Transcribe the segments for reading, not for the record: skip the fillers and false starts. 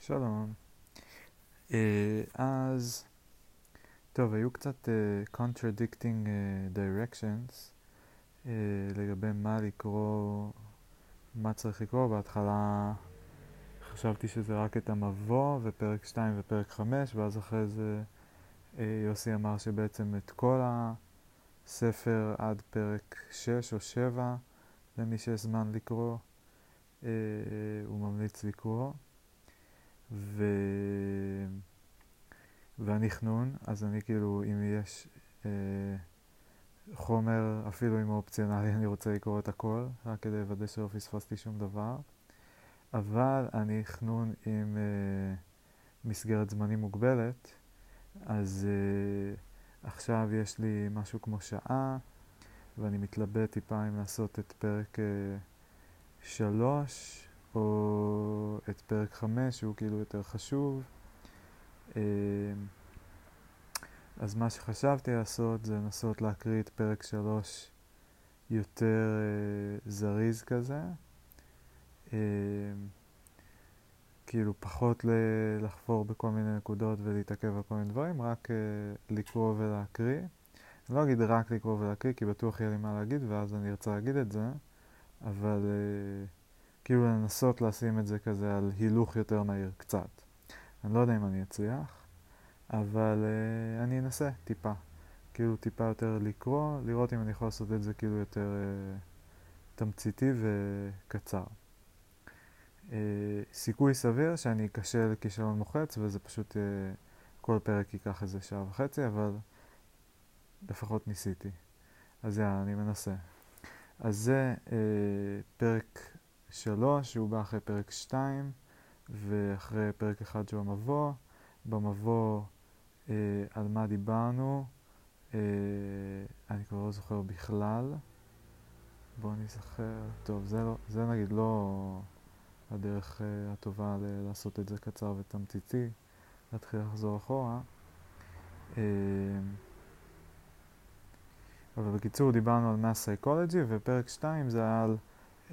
שלום. אז, טוב, היו קצת contradicting directions לגבי מה לקרוא, מה צריך לקרוא. בהתחלה חשבתי שזה רק את המבוא ופרק 2 ופרק 5, ואז אחרי זה יוסי אמר שבעצם את כל הספר עד פרק 6 או 7, למי שיש זמן לקרוא, הוא ממליץ לקרוא. ואני חנון, אז אני כאילו, אם יש חומר, אפילו אם הוא אופציונלי, אני רוצה לקרוא את הכל, רק כדי לוודא שלא פספסתי שום דבר. אבל אני חנון עם מסגרת זמנים מוגבלת, אז עכשיו יש לי משהו כמו שעה, ואני מתלבט טיפה אם לעשות את פרק 3, או את פרק 5, שהוא כאילו יותר חשוב. אז מה שחשבתי לעשות זה לנסות להקריא את פרק 3 יותר זריז כזה. כאילו פחות לחפור בכל מיני נקודות ולהתעכב על כל מיני דברים, רק לקרוא ולהקריא. אני לא אגיד רק לקרוא ולהקריא, כי בטוח יהיה לי מה להגיד ואז אני ארצה להגיד את זה, אבל כאילו לנסות לשים את זה כזה על הילוך יותר מהיר קצת. אני לא יודע אם אני אצליח, אבל אני אנסה טיפה. כאילו טיפה יותר לקרוא, לראות אם אני יכול לעשות את זה כאילו יותר תמציתי וקצר. סיכוי סביר שאני אקשה לכישלון מוחץ, וזה פשוט כל פרק ייקח איזה שעה וחצי, אבל לפחות ניסיתי. אז יאללה, אני מנסה. אז זה פרק 3, שהוא בא אחרי פרק 2, ואחרי פרק 1 שהוא המבוא. במבוא על מה דיברנו, אני כבר לא זוכר בכלל. בואו נזכר. טוב, זה נגיד לא הדרך הטובה לעשות את זה קצר ותמציתי, להתחיל לחזור אחורה. אבל בקיצור דיברנו על Mass Psychology, ופרק 2 זה היה על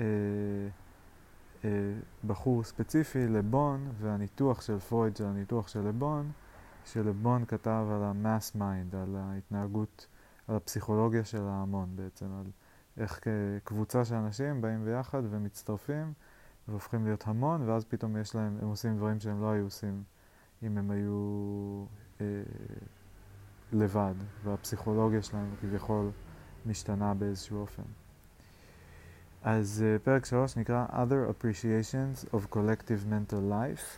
בחור ספציפי, לבון, והניתוח של פרויד של הניתוח של לבון, שלבון כתב על ה-Mass Mind, על ההתנהגות, על הפסיכולוגיה של ההמון בעצם, על איך קבוצה של אנשים באים ביחד ומצטרפים והופכים להיות המון, ואז פתאום הם עושים דברים שהם לא היו עושים אם הם היו לבד, והפסיכולוגיה שלהם כביכול משתנה באיזשהו אופן. אז פרק 3 נקרא Other Appreciations of Collective Mental Life,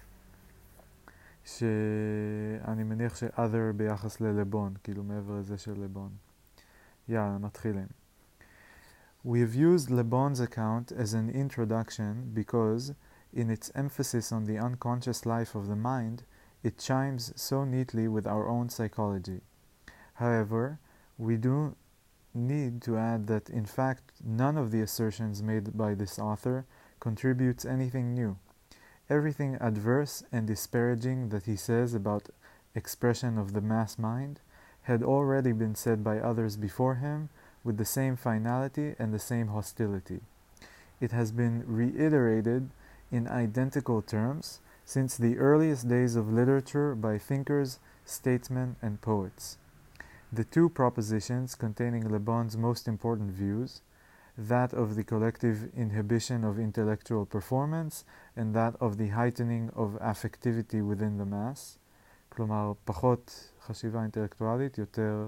שאני מניח ש-other ביחס ללבון, כאילו מעבר לזה של לבון. יאללה, מתחילים. We have used Le Bon's account as an introduction because, in its emphasis on the unconscious life of the mind, it chimes so neatly with our own psychology. However, we do need to add that, in fact, none of the assertions made by this author contributes anything new. Everything adverse and disparaging that he says about expression of the mass mind had already been said by others before him, with the same finality and the same hostility. It has been reiterated in identical terms since the earliest days of literature by thinkers, statesmen, and poets. The two propositions containing Le Bon's most important views, that of the collective inhibition of intellectual performance and that of the heightening of affectivity within the mass, כלומר פחות חשיבה אינטלקטואלית, יותר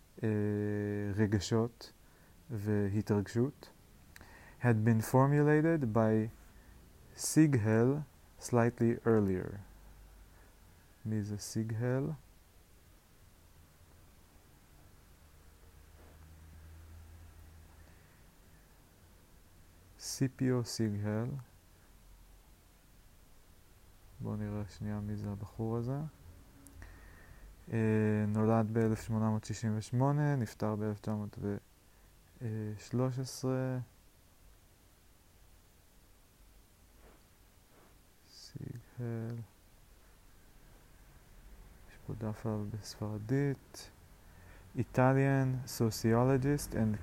רגשות והתרגשות, had been formulated by Sighel slightly earlier. מי זה Sighel? סיפיו סיגהל. בואו נראה שנייה מי זה הבחור הזה. נולד ב-1868, נפטר ב-1913. סיגהל. יש פה דף עליו בספרדית. Italian sociologist and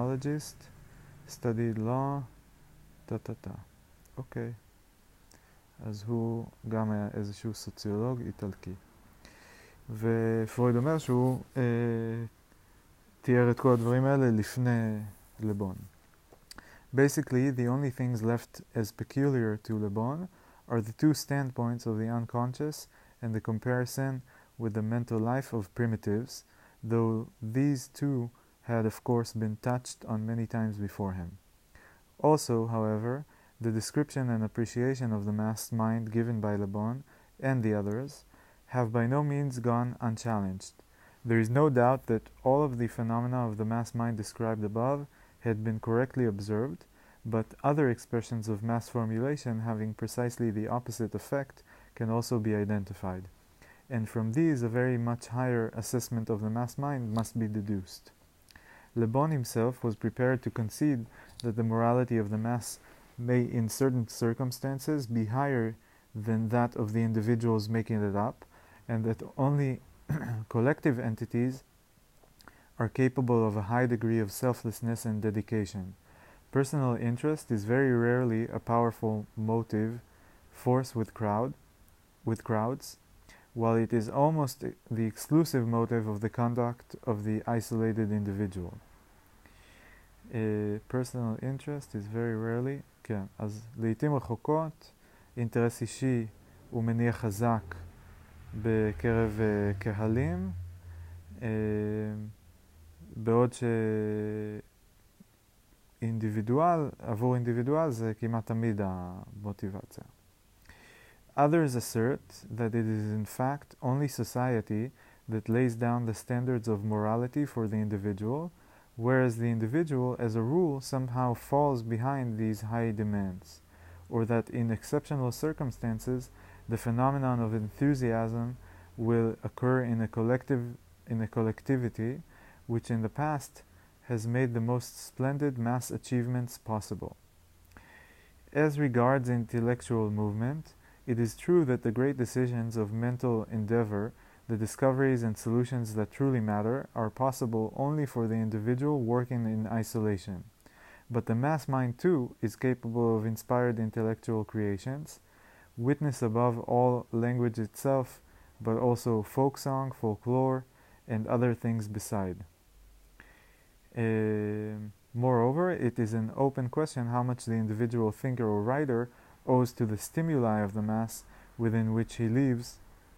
criminologist, studied law, אוקיי. אז הוא גם היה איזשהו סוציולוג איטלקי. ופרויד אומר שהוא תיאר את כל הדברים האלה לפני לבון. Basically, the only things left as peculiar to Le Bon are the two standpoints of the unconscious and the comparison with the mental life of primitives, though these two had of course been touched on many times before him. Also, however, the description and appreciation of the mass mind given by Le Bon and the others have by no means gone unchallenged. There is no doubt that all of the phenomena of the mass mind described above had been correctly observed, but other expressions of mass formulation having precisely the opposite effect can also be identified. And from these a very much higher assessment of the mass mind must be deduced. Le Bon himself was prepared to concede that the morality of the mass may in certain circumstances be higher than that of the individuals making it up, and that only collective entities are capable of a high degree of selflessness and dedication. Personal interest is very rarely a powerful motive force with crowds, while it is almost the exclusive motive of the conduct of the isolated individual. Personal interest is very rarely, כן, אז לעתים רחוקות אינטרס אישי הוא מניע חזק בקרב קהלים, בעוד עבור אינדיבידואל זה כמעט תמיד המוטיבציה. Others assert that it is in fact only society that lays down the standards of morality for the individual, whereas the individual as a rule somehow falls behind these high demands, or that in exceptional circumstances the phenomenon of enthusiasm will occur in a collectivity which in the past has made the most splendid mass achievements possible. As regards intellectual movement, it is true that the great decisions of mental endeavor, the discoveries and solutions that truly matter, are possible only for the individual working in isolation. But the mass mind too is capable of inspired intellectual creations, witness above all language itself, but also folk song, folklore, and other things beside. Moreover, it is an open question how much the individual thinker or writer owes to the stimuli of the mass within which he lives,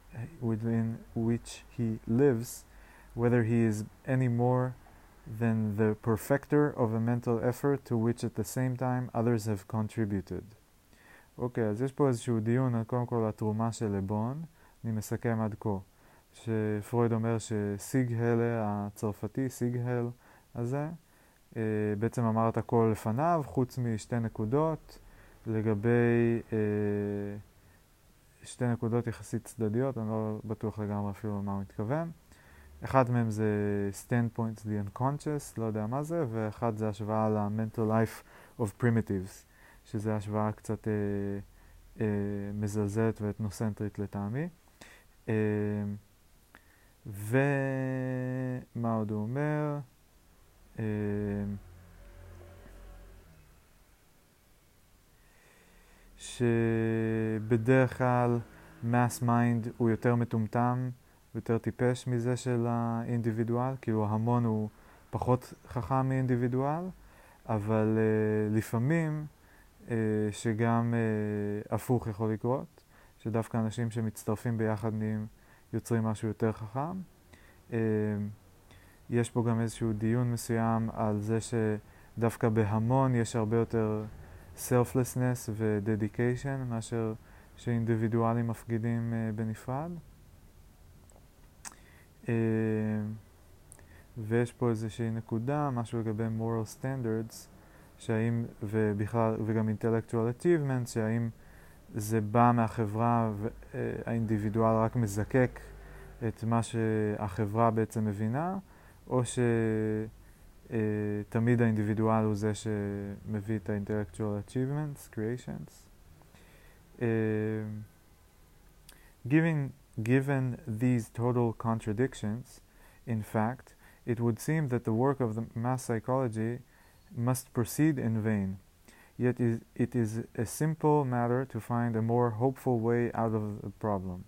whether he is any more than the perfecter of a mental effort to which at the same time others have contributed. אוקיי, אז יש פה איזשהו דיון על קודם כל התרומה של לבון. אני מסכם עד כה, שפרויד אומר שסיגהל הצרפתי, סיגהל הזה, בעצם אמר את הכל לפניו, חוץ משתי נקודות, לגבי שתי נקודות יחסית צדדיות, אני לא בטוח לגמרי אפילו מה הוא מתכוון. אחד מהם זה standpoints the unconscious, לא יודע מה זה, ואחד זה השוואה ל-mental life of primitives, שזה השוואה קצת מזלזלת ואתנוסנטרית לטעמי. ומה עוד הוא אומר? שבדרך כלל mass mind הוא יותר מטומטם, יותר טיפש מזה של האינדיבידואל, כאילו ההמון הוא פחות חכם מאינדיבידואל, אבל לפעמים שגם הפוך יכול לקרות, שדווקא אנשים שמצטרפים ביחד יוצרים משהו יותר חכם. יש פה גם איזשהו דיון מסוים על זה שדווקא בהמון יש הרבה יותר selflessness ו-dedication מאשר שאינדיבידואלים מפגידים בנפרד. ויש פה איזושהי נקודה, משהו לגבי moral standards, שהאם, וגם intellectual achievements, שהאם זה בא מהחברה והאינדיבידואל רק מזקק את מה שהחברה בעצם מבינה, או שתמיד האינדיבידואל הוא זה שמביא את ה-intellectual achievements, creations. Given these total contradictions, in fact, it would seem that the work of the mass psychology must proceed in vain. yet it is a simple matter to find a more hopeful way out of the problem.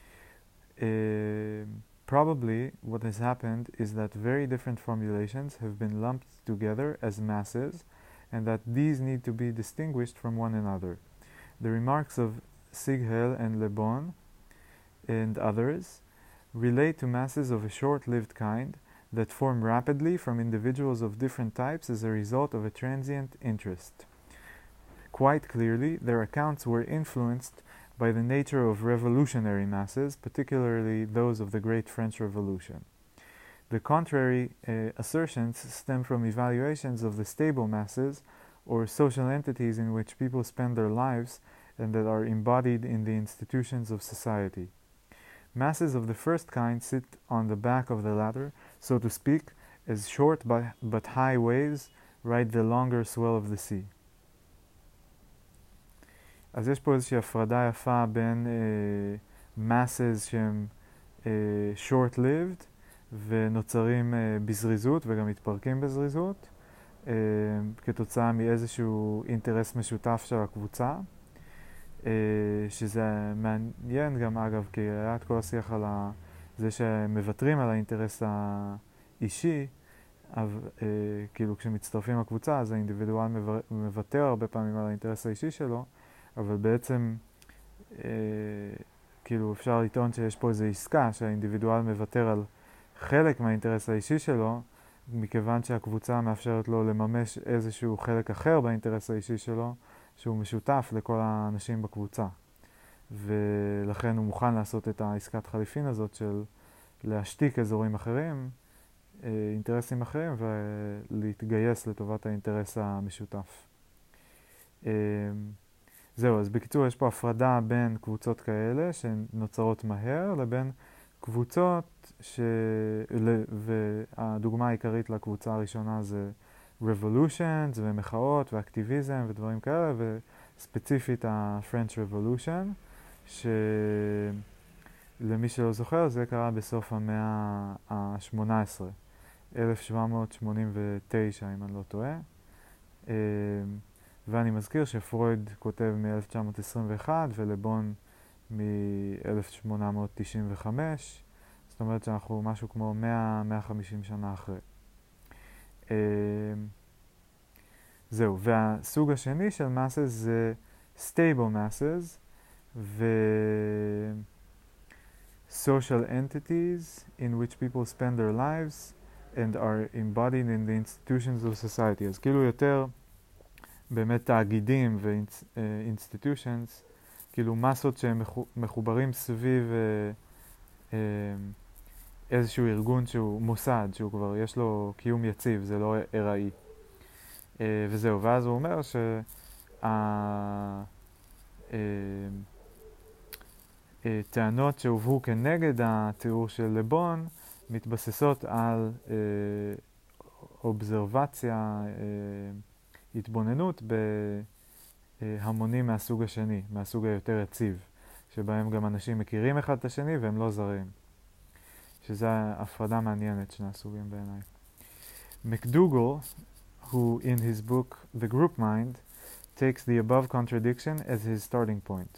Probably what has happened is that very different formulations have been lumped together as masses, and that these need to be distinguished from one another. The remarks of Sighel and Le Bon and others relate to masses of a short-lived kind that form rapidly from individuals of different types as a result of a transient interest. Quite clearly, their accounts were influenced by the nature of revolutionary masses, particularly those of the Great French Revolution. The contrary assertions stem from evaluations of the stable masses, or social entities in which people spend their lives and that are embodied in the institutions of society. Masses of the first kind sit on the back of the ladder, so to speak, as short but high waves ride the longer swell of the sea. אז יש פה איזושהי הפרדה יפה בין masses שהם short-lived ונוצרים בזריזות וגם מתפרקים בזריזות כתוצאה מאיזשהו אינטרס משותף של הקבוצה, שזה מעניין גם אגב, כי היה את כל השיח על זה שמוותרים על האינטרס האישי, כאילו כשמצטרפים לקבוצה אז האינדיבידואל מוותר הרבה פעמים על האינטרס האישי שלו, אבל בעצם כאילו אפשר לטעון שיש פה איזו עסקה שהאינדיבידואל מוותר על חלק מהאינטרס האישי שלו, מכיוון שהקבוצה מאפשרת לו לממש איזשהו חלק אחר באינטרס האישי שלו, שהוא משותף לכל האנשים בקבוצה. ולכן הוא מוכן לעשות את העסקת חליפין הזאת של להשתיק אזורים אחרים, אינטרסים אחרים, ולהתגייס לטובת האינטרס המשותף. זהו, אז בקיצור יש פה הפרדה בין קבוצות כאלה שנוצרות מהר לבין קבוצות והדוגמה העיקרית לקבוצה הראשונה זה revolutions ומחאות ואקטיביזם ודברים כאלה, וספציפית ה-French Revolution, שלמי שלא זוכר זה קרה בסוף המאה ה-18, 1789 אם אני לא טועה. ואני מזכיר שפרויד כותב מ-1921 ולבון מ-1895, זאת אומרת שאנחנו משהו כמו 100-150 שנה אחרי. זהו, והסוג השני של masses זה stable masses ו social entities in which people spend their lives and are embodied in the institutions of society. אז כאילו יותר באמת תאגידים ו-institutions, כאילו מסות שהם מחוברים סביב איזשהו ארגון שהוא מוסד, שהוא כבר יש לו קיום יציב, זה לא ארעי. וזהו, ואז הוא אומר שהטענות שהובאו כנגד התיאור של לבון מתבססות על אובזרבציה, התבוננות בהמונים מהסוג השני, מהסוג היותר יציב, שבהם גם אנשים מכירים אחד את השני והם לא זרים. שזו הפרדה מעניינת שני הסוגים בעיניי. מקדוגל, who in his book The Group Mind takes the above contradiction as his starting point.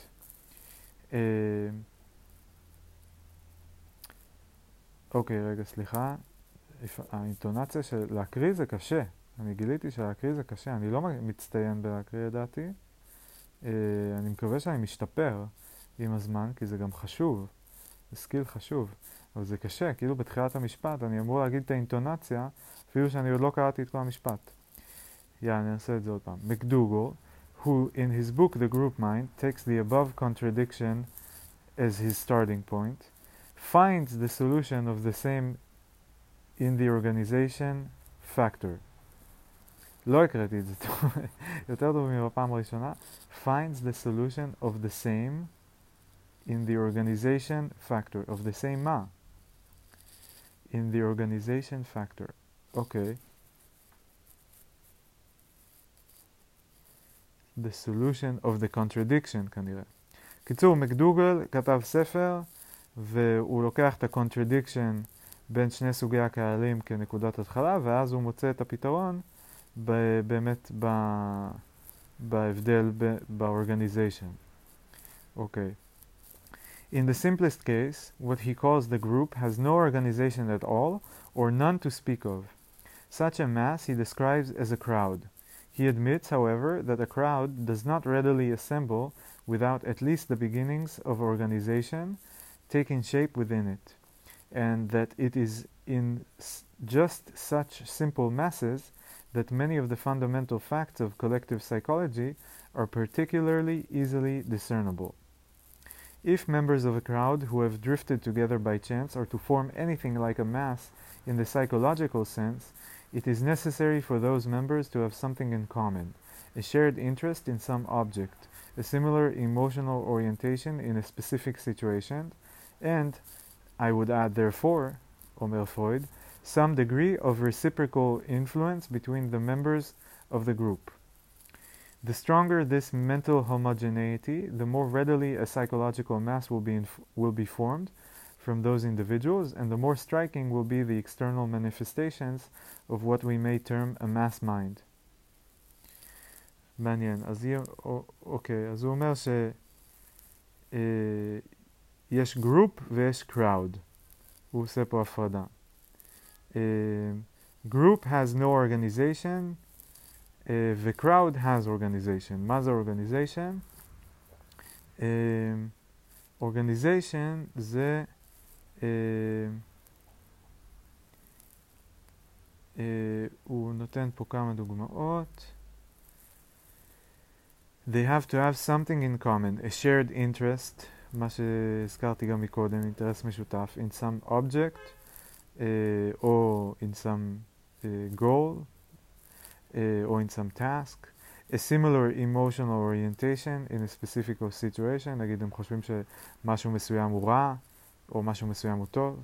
אוקיי, רגע, סליחה. האינטונציה של להקריא זה קשה. אני גיליתי שלהקריא זה קשה. אני לא מצטיין בלהקריא לדעתי. אני מקווה שאני משתפר עם הזמן, כי זה גם חשוב. זה סקיל חשוב. אבל זה קשה, כאילו בתחילת המשפט אני אמור להגיד את האינטונציה, אפילו שאני עוד לא קראתי את כל המשפט. אני אעשה את זה עוד פעם. מקדוגל, who in his book The Group Mind takes the above contradiction as his starting point, finds the solution of the same in the organization factor. לא הקראתי את זה טוב, יותר טוב מבפעם הראשונה. finds the solution of the same in the organization factor. of the same מה? in the organization factor. אוקיי. the solution of the contradiction כנראה. קיצור, מקדוגל כתב ספר והוא לוקח את ה-contradiction בין שני סוגי הקהלים כנקודת התחלה, ואז הוא מוצא את הפתרון באמת בהבדל באורגניזation. Okay. In the simplest case, what he calls the group has no organization at all, or none to speak of. Such a mass he describes as a crowd. He admits, however, that a crowd does not readily assemble without at least the beginnings of organization taking shape within it, and that it is in just such simple masses that many of the fundamental facts of collective psychology are particularly easily discernible. If members of a crowd who have drifted together by chance are to form anything like a mass in the psychological sense, it is necessary for those members to have something in common, a shared interest in some object, a similar emotional orientation in a specific situation, and, I would add therefore, Omer Freud, some degree of reciprocal influence between the members of the group. The stronger this mental homogeneity, the more readily a psychological mass will be formed from those individuals, and the more striking will be the external manifestations of what we may term a mass mind. מעניין. אוקיי, אז הוא אומר שיש group ויש crowd. הוא עושה פה הפרדה. Group has no organization, ו-crowd has organization. מה זה organization? Organization זה הוא נותן פה כמה דוגמאות. They have to have something in common, a shared interest, מה שהזכרתי גם מקודם, אינטרס משותף, in some object, or in some goal, or in some task, a similar emotional orientation in a specific situation, נגיד הם חושבים שמשהו מסוים הוא רע, או משהו מסוים הוא טוב,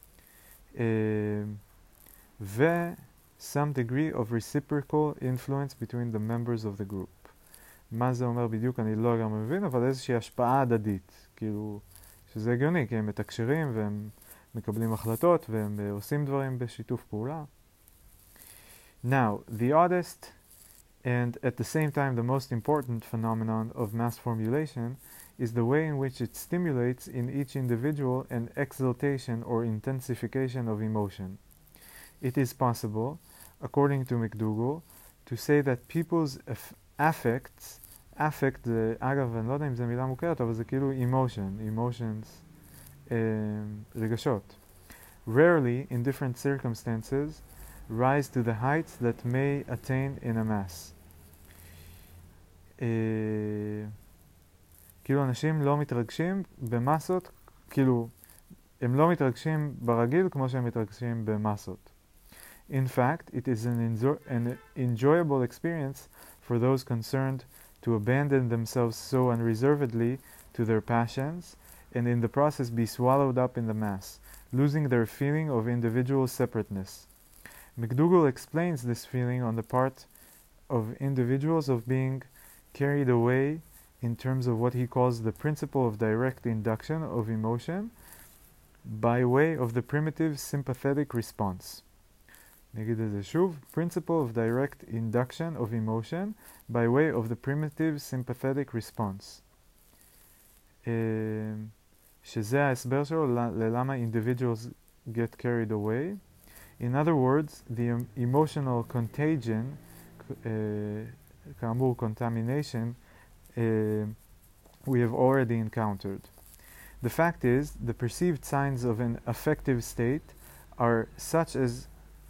ו some degree of reciprocal influence between the members of the group. מה זה אומר בדיוק אני לא גם מבין, אבל איזושהי השפעה הדדית, כאילו שזה הגיוני, כי הם מתקשרים והם מקבלים החלטות והם עושים דברים בשיתוף פעולה. Now, the oddest and at the same time the most important phenomenon of mass formulation is the way in which it stimulates in each individual an exaltation or intensification of emotion. It is possible, according to McDougall, to say that people's affects, affect זה, אגב, אני לא יודע אם זו מילה מוכרת, אבל זה כאילו emotions, רגשות. Rarely, in different circumstances, rise to the heights that may attain in a mass. כאילו אנשים לא מתרגשים במסות, כאילו הם לא מתרגשים ברגיל כמו שהם מתרגשים במסות. In fact, it is an enjoyable experience for those concerned to abandon themselves so unreservedly to their passions and in the process be swallowed up in the mass, losing their feeling of individual separateness. McDougall explains this feeling on the part of individuals of being carried away in terms of what he calls the principle of direct induction of emotion by way of the primitive sympathetic response. נגיד את זה שוב, principle of direct induction of emotion by way of the primitive sympathetic response. שזה ההסבר שלו ללמה individuals get carried away. In other words, the emotional contagion, כאמור contamination, we have already encountered. The fact is, the perceived signs of an affective state are such as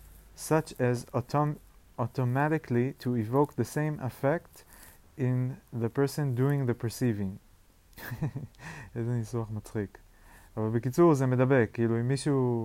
automatically to evoke the same effect in the person doing the perceiving. איזה ניסוח מצחיק. אבל בקיצור זה מדבק, כאילו אם מישהו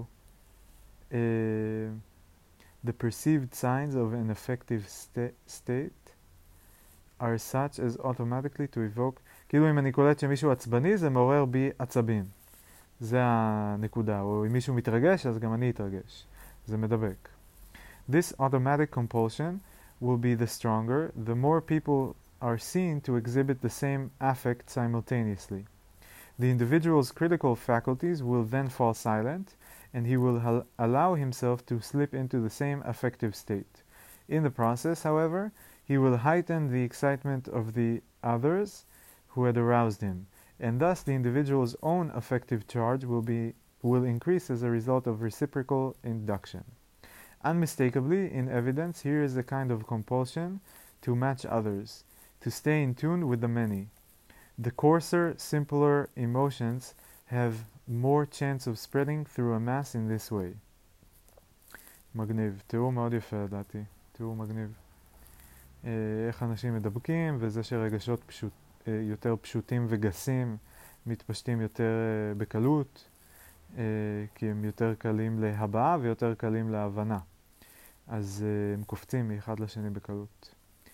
the perceived signs of an affective state are such as automatically to evoke, כאילו אם אני קולט שמישהו עצבני זה מעורר בי עצבים. זה הנקודה. או אם מישהו מתרגש אז גם אני אתרגש. זה מדבק. This automatic compulsion will be the stronger the more people are seen to exhibit the same affect simultaneously. The individual's critical faculties will then fall silent, and he will allow himself to slip into the same affective state. In the process, however, he will heighten the excitement of the others who had aroused him, and thus the individual's own affective charge will increase as a result of reciprocal induction. Unmistakably, in evidence, here is a kind of compulsion to match others, to stay in tune with the many. The coarser, simpler emotions have more chance of spreading through a mass in this way. מגניב, תיאור מאוד יפה לדעתי, תיאור מגניב. איך אנשים מדבקים, וזה שרגשות יותר פשוטים וגסים מתפשטים יותר בקלות, כי הם יותר קלים להבעה ויותר קלים להבנה. אז הם קופצים מאחד לשני בקלות.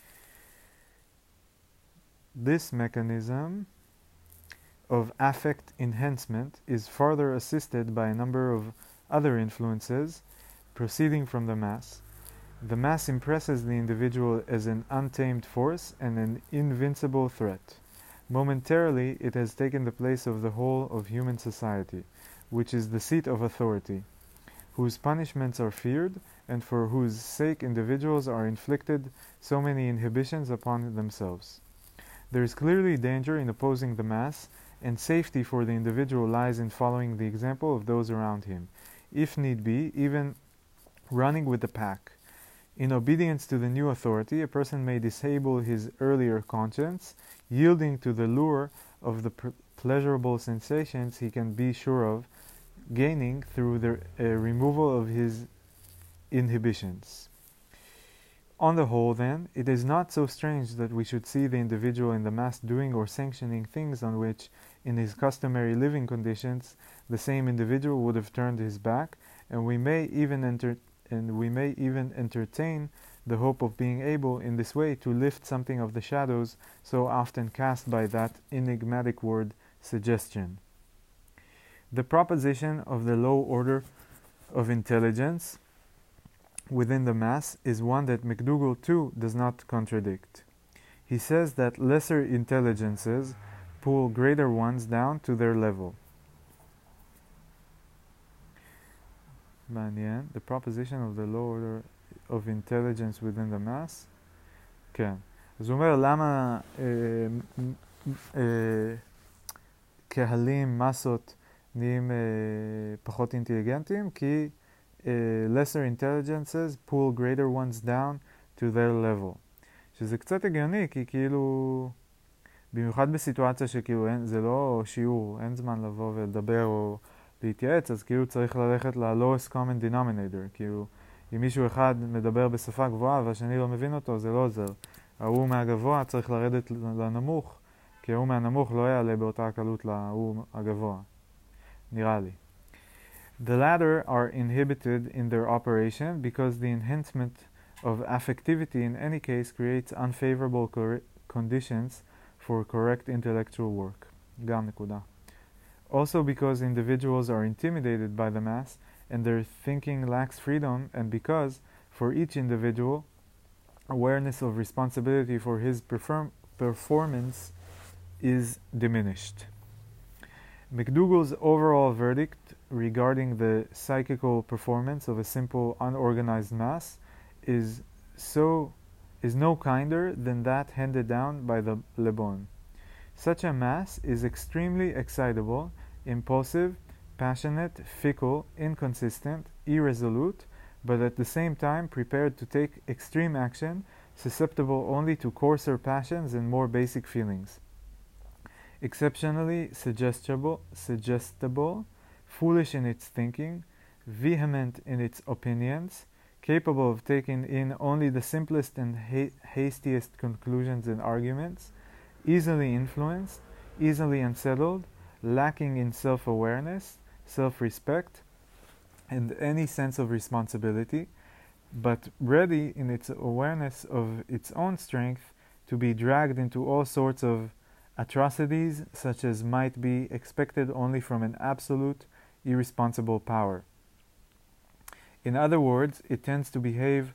This mechanism of affect enhancement is further assisted by a number of other influences proceeding from the mass. The mass impresses the individual as an untamed force and an invincible threat. Momentarily, it has taken the place of the whole of human society, which is the seat of authority, whose punishments are feared, and for whose sake individuals are inflicted so many inhibitions upon themselves. There is clearly danger in opposing the mass, and safety for the individual lies in following the example of those around him, if need be, even running with the pack. In obedience to the new authority, a person may disable his earlier conscience, yielding to the lure of the pleasurable sensations he can be sure of gaining through the removal of his inhibitions. On the whole, then, it is not so strange that we should see the individual in the mass doing or sanctioning things on which, in his customary living conditions, the same individual would have turned his back, and we may even entertain the hope of being able, in this way, to lift something of the shadows so often cast by that enigmatic word, suggestion. The proposition of the low order of intelligence within the mass is one that McDougall too does not contradict. He says that lesser intelligences pull greater ones down to their level. מעניין, the proposition of the low order of intelligence within the mass. כן. אז הוא אומר למה קהלים, מסות, נהיים פחות אינטליגנטים? כי lesser intelligences pull greater ones down to their level. שזה קצת הגיוני, כי כאילו, במיוחד בסיטואציה שכאילו זה לא שיעור, אין זמן לבוא ולדבר או להתייעץ, אז כאילו צריך ללכת ל-lowest common denominator. כאילו, אם מישהו אחד מדבר בשפה גבוהה והשני לא מבין אותו, זה לא עוזר. ההוא מהגבוה צריך לרדת לנמוך, כי ההוא מהנמוך לא יעלה באותה הקלות להוא הגבוה. נראה לי. The latter are inhibited in their operation because the enhancement of affectivity in any case creates unfavorable conditions for correct intellectual work. גם נקודה. Also because individuals are intimidated by the mass and their thinking lacks freedom, and because, for each individual, awareness of responsibility for his performance is diminished. McDougall's overall verdict regarding the psychical performance of a simple unorganized mass is no kinder than that handed down by the Le Bon. Such a mass is extremely excitable, impulsive, passionate, fickle, inconsistent, irresolute, but at the same time prepared to take extreme action, susceptible only to coarser passions and more basic feelings. Exceptionally suggestible, foolish in its thinking, vehement in its opinions, capable of taking in only the simplest and hastiest conclusions and arguments, easily influenced, easily unsettled, lacking in self-awareness, self-respect, and any sense of responsibility, but ready in its awareness of its own strength to be dragged into all sorts of atrocities such as might be expected only from an absolute, irresponsible power. In other words, it tends to behave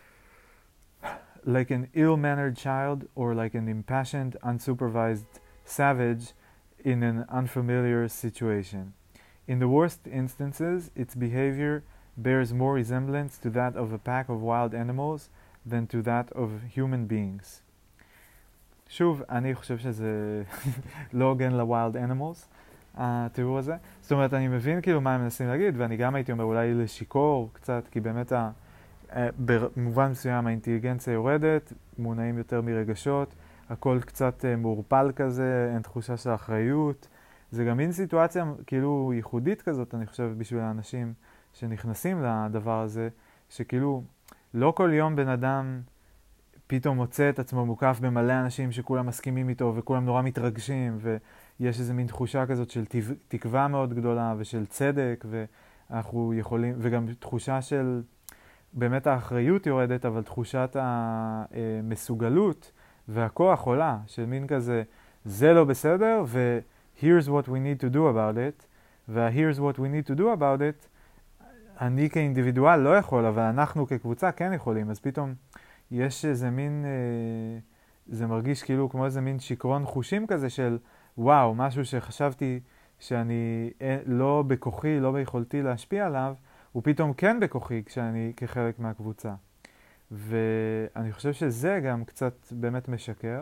like an ill-mannered child or like an impassioned, unsupervised savage in an unfamiliar situation. In the worst instances, its behavior bears more resemblance to that of a pack of wild animals than to that of human beings. שוב, אני חושב שזה לא הוגן לווילד אנימלס, התיאור הזה. זאת אומרת, אני מבין כאילו מה הם מנסים להגיד, ואני גם הייתי אומר אולי לשיקור קצת, כי באמת במובן מסוים האינטליגנציה יורדת, מונעים יותר מרגשות, הכל קצת מעורפל כזה, אין תחושה של אחריות. זה גם מין סיטואציה כאילו ייחודית כזאת, אני חושב, בשביל האנשים שנכנסים לדבר הזה, שכאילו לא כל יום בן אדם פתאום מוצא את עצמו מוקף במלא אנשים שכולם מסכימים איתו וכולם נורא מתרגשים, ויש איזו מין תחושה כזאת של תקווה מאוד גדולה ושל צדק, ואנחנו יכולים, וגם תחושה של באמת האחריות יורדת, אבל תחושת המסוגלות והכוח עולה, של מין כזה, זה לא בסדר, ו-here's what we need to do about it, וה-here's what we need to do about it, אני כאינדיבידואל לא יכול, אבל אנחנו כקבוצה כן יכולים, אז פתאום יש איזה מין, זה מרגיש כאילו כמו איזה מין שיקרון חושים כזה של, וואו, משהו שחשבתי שאני לא בכוחי, לא ביכולתי להשפיע עליו, הוא פתאום כן בכוחי כשאני כחלק מהקבוצה. ואני חושב שזה גם קצת באמת משקר.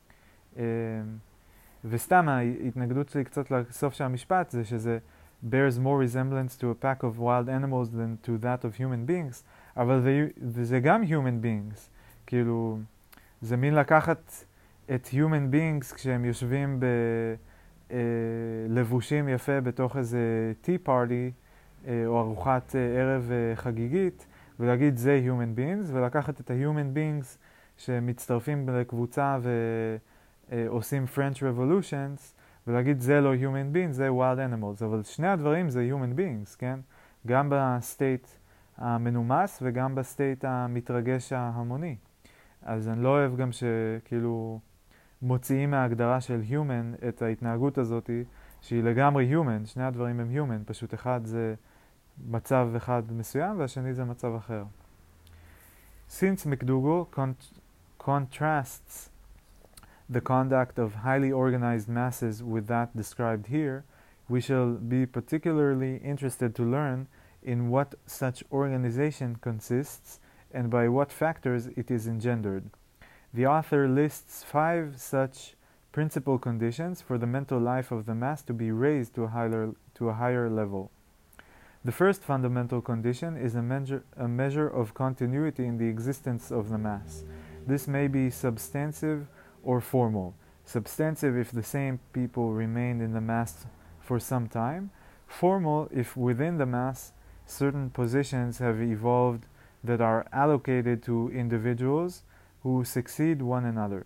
וסתם ההתנגדות שלי קצת לסוף של המשפט זה שזה bears more resemblance to a pack of wild animals than to that of human beings, אבל זה גם human beings. כאילו, זה מין לקחת את human beings כשהם יושבים בלבושים יפה בתוך איזה tea party, או ארוחת ערב חגיגית, ולהגיד זה human beings, ולקחת את ה-human beings שמצטרפים לקבוצה ועושים French Revolutions, ולהגיד זה לא human beings, זה wild animals. אבל שני הדברים זה human beings, כן? גם בסטייט המנומס וגם בסטייט המתרגש ההמוני. אז אני לא אוהב גם שכאילו מוציאים מההגדרה של human את ההתנהגות הזאת, שהיא לגמרי human, שני הדברים הם human, פשוט אחד זה מצב אחד מסוים והשני זה מצב אחר. Since McDougall contrasts the conduct of highly organized masses with that described here, we shall be particularly interested to learn in what such organization consists and by what factors it is engendered. The author lists 5 such principal conditions for the mental life of the mass to be raised to a higher level. The first fundamental condition is a measure of continuity in the existence of the mass. This may be substantive or formal. Substantive if the same people remain in the mass for some time. Formal if within the mass certain positions have evolved that are allocated to individuals who succeed one another.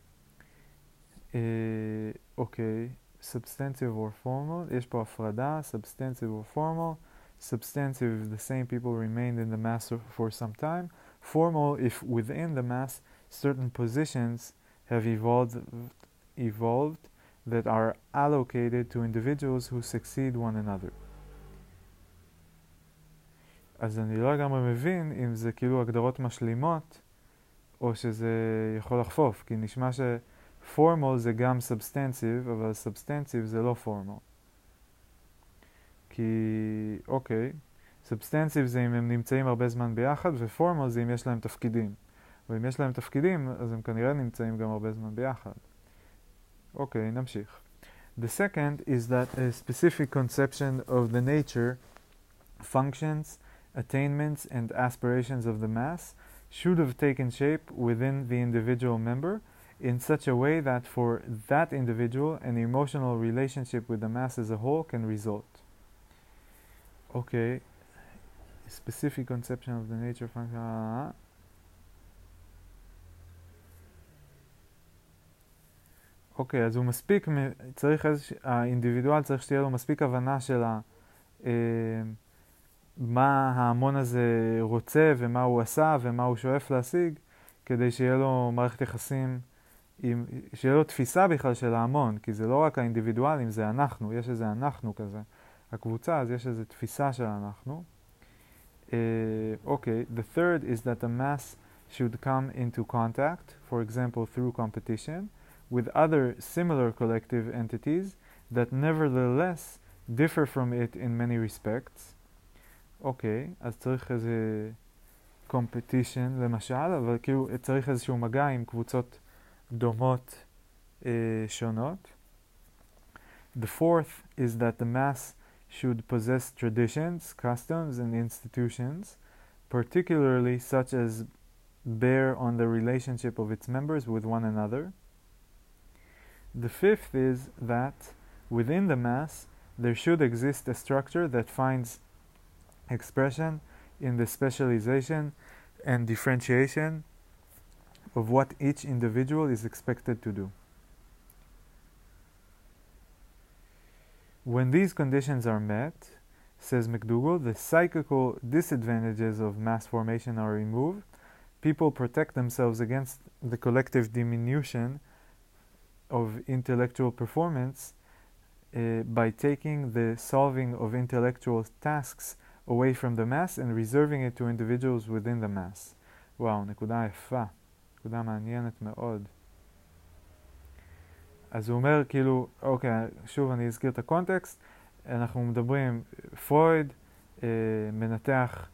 Okay, substantive or formal. יש פה הפרדה, substantive or formal. Substantive if the same people remained in the mass for some time. Formal if within the mass certain positions have evolved that are allocated to individuals who succeed one another. אז אני לא לגמרי מבין אם זה כאילו הגדרות משלימות או שזה יכול לחפוף, כי נשמע ש-formal זה גם substantive, אבל substantive זה לא formal. כי, אוקיי, substantive זה אם הם נמצאים הרבה זמן ביחד, ו-formal זה אם יש להם תפקידים. ואם יש להם תפקידים, אז הם כנראה נמצאים גם הרבה זמן ביחד. אוקיי, נמשיך. The second is that a specific conception of the nature, functions, attainments, and aspirations of the mass should have taken shape within the individual member in such a way that for that individual an emotional relationship with the mass as a whole can result. Okay, specific conception of the nature, function, אוקיי, אז הוא מספיק, האינדיבידואל צריך שתהיה לו מספיק הבנה של מה ההמון הזה רוצה ומה הוא עשה ומה הוא שואף להשיג, כדי שיהיה לו מערכת יחסים, שיהיה לו תפיסה בכלל של ההמון, כי זה לא רק האינדיבידואלים, זה אנחנו, יש איזה אנחנו כזה. הקבוצה, אז יש איזה תפיסה של אנחנו. אוקיי, the third is that the mass should come into contact, for example through competition, with other similar collective entities that nevertheless differ from it in many respects. אוקיי, אז צריך איזה competition למשל, אבל כאילו צריך איזשהו מגע עם קבוצות דומות שונות. The fourth is that the mass should possess traditions, customs, and institutions, particularly such as bear on the relationship of its members with one another. The fifth is that within the mass there should exist a structure that finds expression in the specialization and differentiation of what each individual is expected to do. When these conditions are met, says McDougall, the psychical disadvantages of mass formation are removed. People protect themselves against the collective diminution of intellectual performance by taking the solving of intellectual tasks away from the mass and reserving it to individuals within the mass. וואו, נקודה יפה, נקודה מעניינת מאוד. אז הוא אומר כאילו, אוקיי, שוב אני אזכיר את הקונטקסט, אנחנו מדברים, פרויד מנתח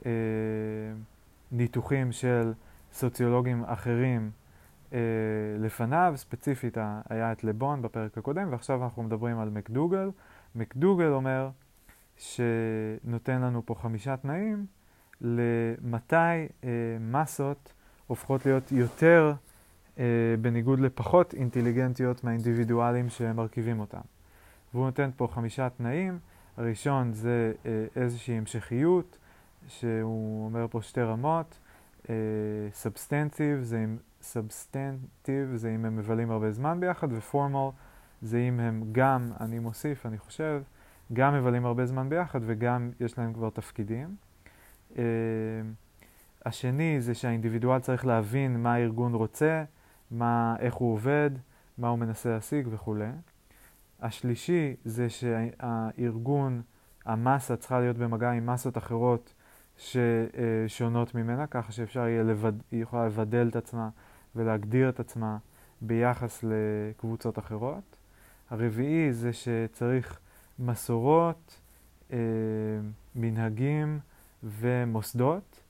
ניתוחים של סוציולוגים אחרים לפניו, ספציפית היה את לבון בפרק הקודם, ועכשיו אנחנו מדברים על מקדוגל. מקדוגל אומר שנותן לנו פה 5 תנאים למתי מסות הופכות להיות יותר בניגוד לפחות אינטליגנטיות מהאינדיבידואלים שמרכיבים אותם. והוא נותן פה 5 תנאים. הראשון זה איזושהי המשכיות, שהוא אומר פה 2 רמות. סובסטנטיב זה אם הם מבלים הרבה זמן ביחד, ופורמל זה אם הם גם, אני מוסיף, אני חושב, גם מבלים הרבה זמן ביחד וגם יש להם כבר תפקידים. השני זה שהאינדיבידואל צריך להבין מה הארגון רוצה, איך הוא עובד, מה הוא מנסה להשיג וכו'. השלישי זה שהארגון, המסה צריכה להיות במגע עם מסות אחרות ששונות ממנה, ככה שאפשר יהיה היא יכולה לבדל את עצמה ולהגדיר את עצמה ביחס לקבוצות אחרות. הרביעי זה שצריך מסורות, מנהגים ומוסדות,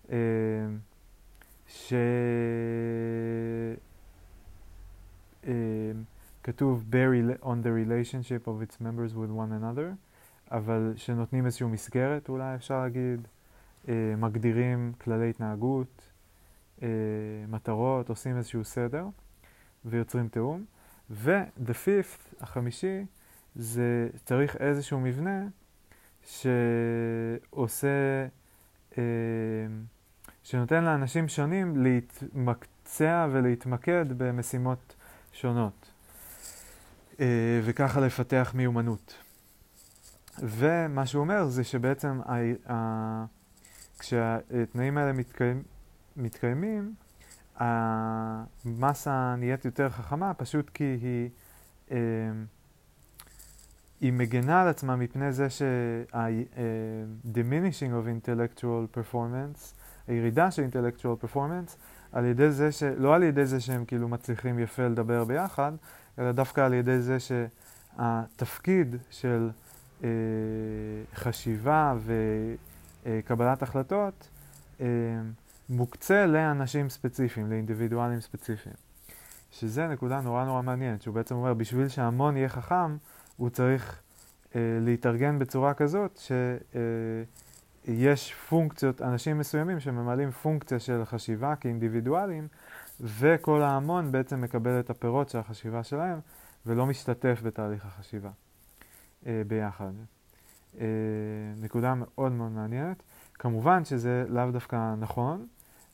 כתוב bear on the relationship of its members with one another, אבל שנותנים איזשהו מסגרת, אולי אפשר להגיד, מגדירים כללי התנהגות, מטרות, עושים איזשהו סדר ויוצרים תאום. ו-the fifth, החמישי, זה צריך איזשהו מבנה שעושה, שנותן לאנשים שונים להתמקצע ולהתמקד במשימות שונות, וככה לפתח מיומנות. ומה שהוא אומר זה שבעצם כשהתנאים האלה מתקיימים, המסה נהיית יותר חכמה, פשוט כי היא מגנה על עצמה מפני זה diminishing of intellectual performance, הירידה של intellectual performance, על ידי זה לא על ידי זה שהם כאילו מצליחים יפה לדבר ביחד, אלא דווקא על ידי זה שהתפקיד של חשיבה וקבלת החלטות מוקצה לאנשים ספציפיים, לאינדיבידואלים ספציפיים. שזה נקודה נורא נורא מעניינת, שהוא בעצם אומר, בשביל שהמון יהיה חכם, הוא צריך להתארגן בצורה כזאת שיש פונקציות, אנשים מסוימים שממלאים פונקציה של חשיבה כאינדיבידואלים, וכל ההמון בעצם מקבל את הפירות של החשיבה שלהם, ולא משתתף בתהליך החשיבה ביחד. נקודה מאוד מאוד מעניינת. כמובן שזה לאו דווקא נכון,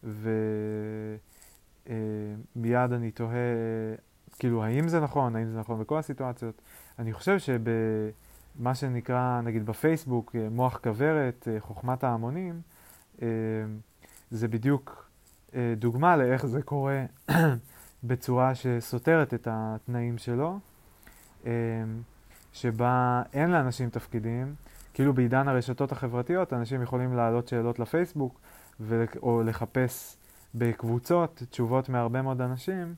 ומיד אני תוהה, כאילו, האם זה נכון בכל הסיטואציות. אני חושב שבמה שנקרא, נגיד בפייסבוק, מוח כברת, חוכמת ההמונים, זה בדיוק דוגמה לאיך זה קורה בצורה שסותרת את התנאים שלו, שבה אין לאנשים תפקידים, כאילו בעידן הרשתות החברתיות, אנשים יכולים להעלות שאלות לפייסבוק, או לחפש בקבוצות תשובות מהרבה מאוד אנשים,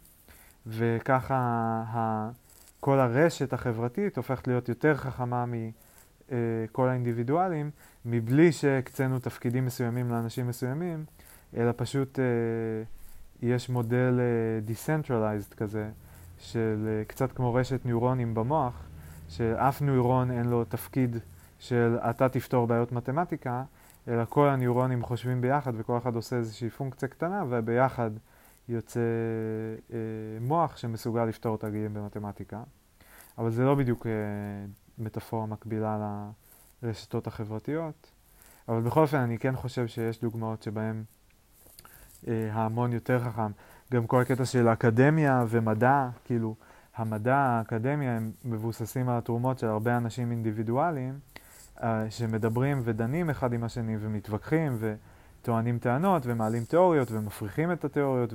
וככה כל הרשת החברתית הופכת להיות יותר חכמה כל האינדיבידואלים, מבלי שהקצינו תפקידים מסוימים לאנשים מסוימים, אלא פשוט יש מודל decentralized כזה, של קצת כמו רשת ניורונים במוח, שאף ניורון אין לו תפקיד של אתה תפתור בעיות מתמטיקה, אלא כל הניורונים חושבים ביחד וכל אחד עושה איזושהי פונקציה קטנה, וביחד יוצא מוח שמסוגל לפתור תרגילים במתמטיקה. אבל זה לא בדיוק מטאפורה מקבילה לרשתות החברתיות. אבל בכל אופן אני כן חושב שיש דוגמאות שבהן ההמון יותר חכם. גם כל הקטע של אקדמיה ומדע, כאילו המדע, האקדמיה, הם מבוססים על התרומות של הרבה אנשים אינדיבידואליים, שמדברים ודנים אחד עם השני ומתווכחים וטוענים טענות ומעלים תיאוריות ומפריחים את התיאוריות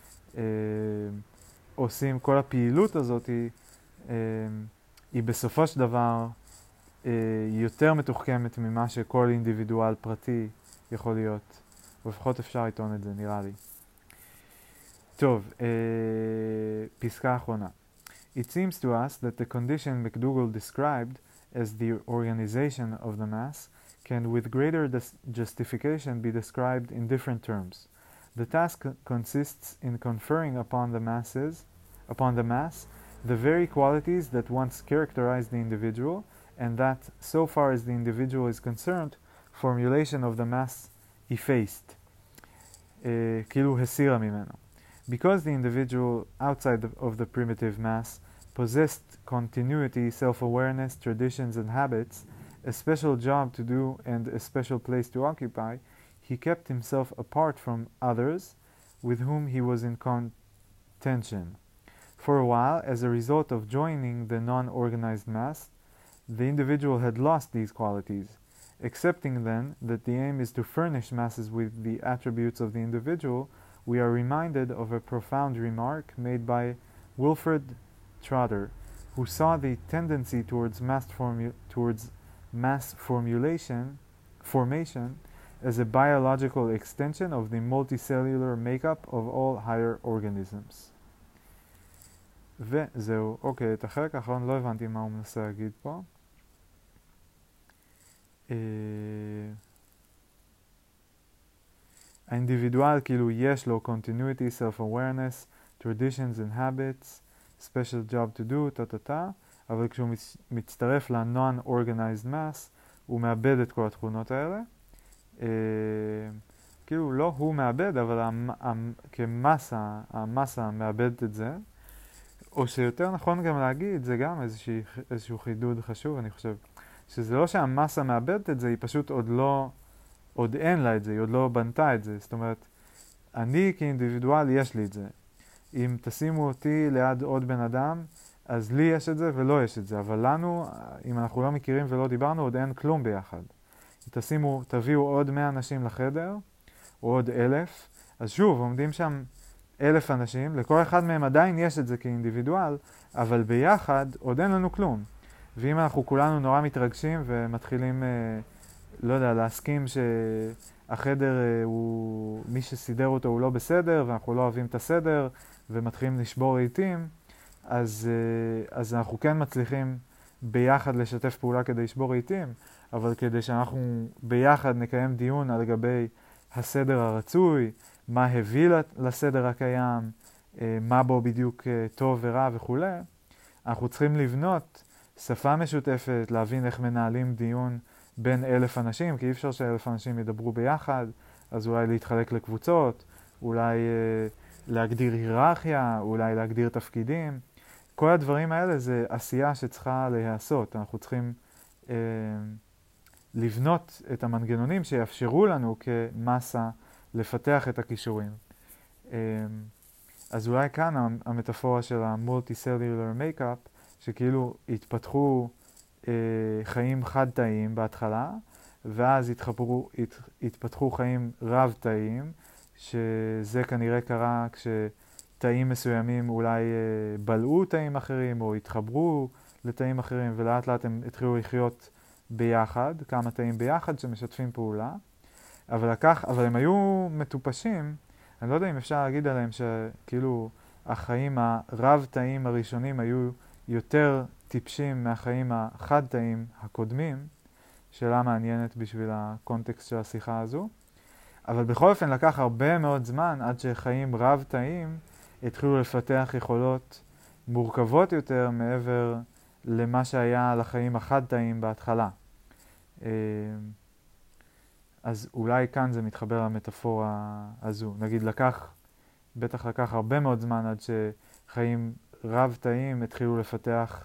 ועושים כל הפעילות הזאת היא בסופו של דבר יותר מתוחכמת ממה שכל אינדיבידואל פרטי יכול להיות. ולפחות אפשר לטעון את זה, נראה לי. טוב, פסקה אחרונה. It seems to us that the condition McDougall described as the organization of the mass can with greater justification be described in different terms. The task consists in conferring upon the mass, the very qualities that once characterize the individual, and that, so far as the individual is concerned, formulation of the mass effaced, כאילו הסירה ממנו. Because the individual outside of the primitive mass possessed continuity, self-awareness, traditions and habits, a special job to do and a special place to occupy, he kept himself apart from others with whom he was in contention. For a while, as a result of joining the non-organized mass, the individual had lost these qualities. Accepting then that the aim is to furnish masses with the attributes of the individual, we are reminded of a profound remark made by Wilfred Trotter, who saw the tendency towards mass formation as a biological extension of the multicellular makeup of all higher organisms. וזהו, אוקיי, את החלק האחרון לא הבנתי מה הוא מנסה להגיד פה. האינדיבידואל כאילו יש לו continuity, self-awareness, traditions and habits, special job to do, טה, אבל כשהוא מצטרף ל-non-organized mass, הוא מאבד את כל התכונות האלה. כאילו לא הוא מאבד, אבל כמסה, המסה מאבדת את זה. או שיותר נכון גם להגיד, זה גם איזשהו חידוד חשוב, אני חושב, שזה לא שהמסה מאבדת את זה, היא פשוט עוד אין לה את זה, היא עוד לא בנתה את זה. זאת אומרת, אני כאינדיבידואל יש לי את זה. אם תשימו אותי ליד עוד בן אדם, אז לי יש את זה ולא יש את זה. אבל לנו, אם אנחנו לא מכירים ולא דיברנו, עוד אין כלום ביחד. תביאו עוד 100 אנשים לחדר, או עוד 1,000, אז שוב, עומדים שם 1,000 אנשים, לכל אחד מהם עדיין יש את זה כאינדיבידואל, אבל ביחד עוד אין לנו כלום. ואם אנחנו כולנו נורא מתרגשים ומתחילים, לא יודע, להסכים שהחדר מי שסידר אותו הוא לא בסדר, ואנחנו לא אוהבים את הסדר, ומתחילים לשבור רהיטים, אז אנחנו כן מצליחים ביחד לשתף פעולה כדי לשבור רהיטים, אבל כדי שאנחנו ביחד נקיים דיון על לגבי הסדר הרצוי, מה הביא לסדר הקיים, מה בו בדיוק טוב ורע וכו'. אנחנו צריכים לבנות שפה משותפת, להבין איך מנהלים דיון בין 1,000 אנשים, כי אי אפשר ש1,000 אנשים ידברו ביחד, אז אולי להתחלק לקבוצות, אולי להגדיר היררכיה, אולי להגדיר תפקידים. כל הדברים האלה זה עשייה שצריכה להיעשות. אנחנו צריכים לבנות את המנגנונים שיאפשרו לנו כמסה לפתח את הכישורים. אז אולי כאן המטאפורה של ה-multicellular makeup, שכאילו התפתחו חיים חד-תאיים בהתחלה, ואז התפתחו חיים רב-תאיים, שזה כנראה קרה כשתאים מסוימים אולי בלעו תאים אחרים, או התחברו לתאים אחרים, ולאט לאט הם התחילו לחיות ביחד, כמה תאים ביחד שמשתפים פעולה. אבל הם היו מטופשים, אני לא יודע אם אפשר להגיד עליהם שכאילו החיים הרב-תאים הראשונים היו יותר טיפשים מהחיים החד-תאים הקודמים, שאלה מעניינת בשביל הקונטקסט של השיחה הזו. אבל בכל אופן לקח הרבה מאוד זמן עד שחיים רב-תאים התחילו לפתח יכולות מורכבות יותר מעבר למה שהיה לחיים החד-תאים בהתחלה. אז אולי כאן זה מתחבר למטאפורה הזו. נגיד בטח לקח הרבה מאוד זמן עד שחיים רב-תאים התחילו לפתח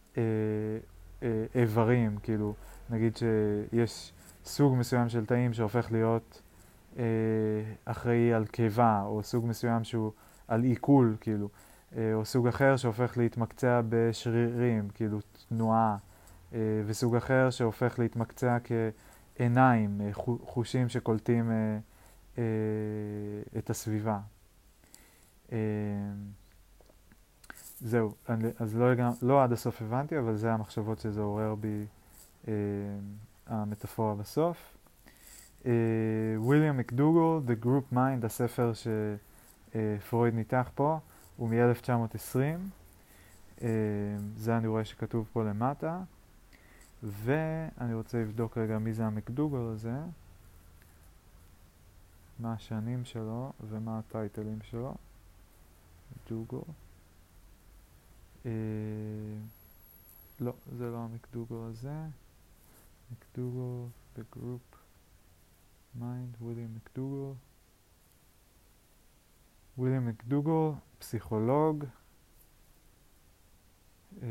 איברים, כאילו נגיד שיש סוג מסוים של תאים שהופך להיות אחראי על קיבה, או סוג מסוים שהוא על עיכול, כאילו, או סוג אחר שהופך להתמקצע בשרירים, כאילו תנועה, וסוג אחר שהופך להתמקצע כעיניים, חושים שקולטים את הסביבה. זהו, אז לא עד הסוף הבנתי, אבל זה המחשבות שזה עורר בי המטאפורה בסוף. וויליאם מקדוגל, The Group Mind, הספר שפרויד ניתח פה, הוא מ-1920. זה אני רואה שכתוב פה למטה. ואני רוצה לבדוק רגע מי זה המקדוגל הזה, מה השנים שלו ומה הטייטלים שלו. מקדוגל. לא, זה לא המקדוגל הזה. מקדוגל, The Group Mind, וויליאם מקדוגל. וויליאם מקדוגל, פסיכולוג, 1871-1938.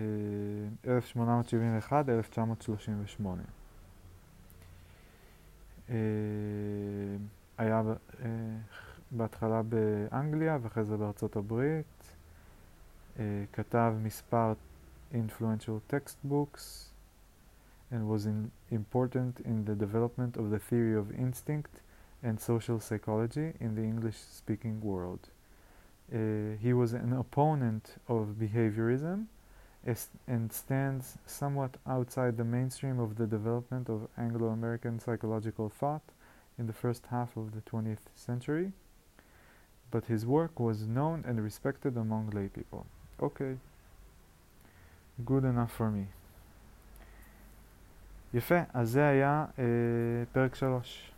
היה בהתחלה באנגליה ואחרי זה בארצות הברית. כתב מספר influential textbooks and was important in the development of the theory of instinct and social psychology in the English-speaking world. He was an opponent of behaviorism and stands somewhat outside the mainstream of the development of Anglo-American psychological thought in the first half of the 20th century, but his work was known and respected among lay people. Okay. Good enough for me. יפה, אז זה היה פרק 3.